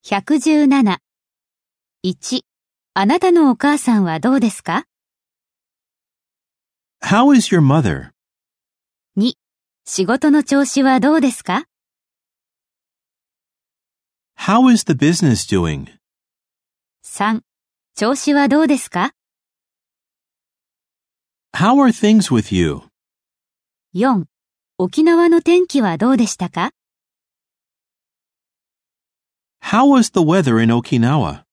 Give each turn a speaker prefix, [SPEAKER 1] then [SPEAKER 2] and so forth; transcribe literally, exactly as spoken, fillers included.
[SPEAKER 1] ひゃくじゅうなな。いち、あなたのお母さんはどうですか？
[SPEAKER 2] How is your mother?
[SPEAKER 1] に、仕事の調子はどうですか？
[SPEAKER 2] How is the business doing?
[SPEAKER 1] さん、調子はどうですか？
[SPEAKER 2] How are things with you?
[SPEAKER 1] よん、沖縄の天気はどうでしたか？
[SPEAKER 2] How was the weather in Okinawa?